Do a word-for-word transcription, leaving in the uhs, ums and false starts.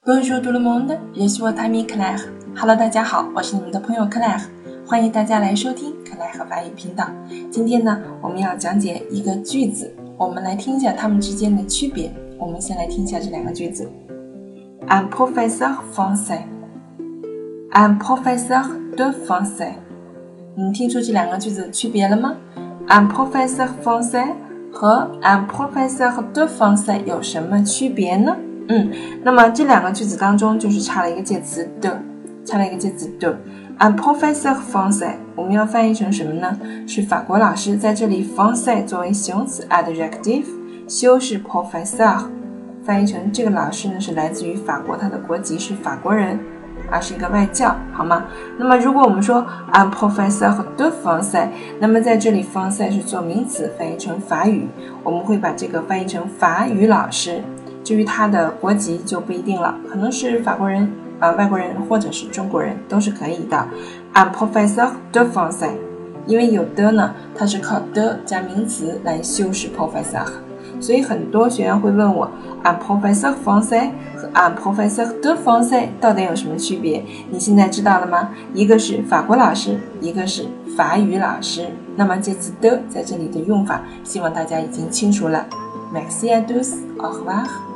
Bonjour tout le monde, je suis votre ami Claire. Hello， 大家好，我是你们的朋友 Claire， 欢迎大家来收听 Claire 法语频道。今天呢，我们要讲解一个句子，我们来听一下它们之间的区别。我们先来听一下这两个句子。Un professeur français, un professeur de français。你听出这两个句子的区别了吗？ Un professeur français 和 un professeur de français 有什么区别呢？嗯，那么这两个句子当中就是差了一个介词的，差了一个介词的。Un professeur français 我们要翻译成什么呢？是法国老师，在这里 français 作为形容词 adjective， 修饰 professeur， 翻译成这个老师呢是来自于法国，他的国籍是法国人，而是一个外教，好吗？那么如果我们说 un professeur de français， 那么在这里 français 是做名词，翻译成法语，我们会把这个翻译成法语老师。至于他的国籍就不一定了，可能是法国人、呃、外国人或者是中国人都是可以的。Un professeur de français， 因为有的呢，它是靠的加名词来修饰 professeur， 所以很多学员会问我 un professeur français 和 un professeur de français 到底有什么区别？你现在知道了吗？一个是法国老师，一个是法语老师。那么介词的在这里的用法，希望大家已经清楚了。Merci à tous, au revoir。